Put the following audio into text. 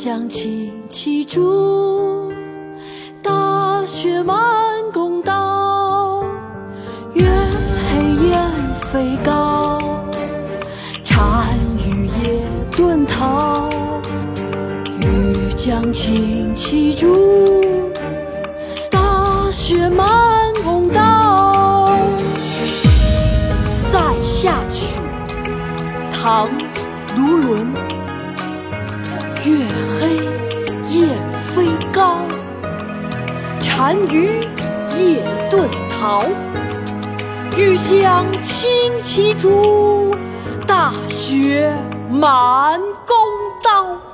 将青旗驻，大雪满宫道。月黑雁飞高，单于夜遁逃。欲将青旗驻，大雪满宫道。塞下曲，唐·卢纶。月黑雁飞高，单于夜遁逃。欲将青旗驻，大雪满宫道。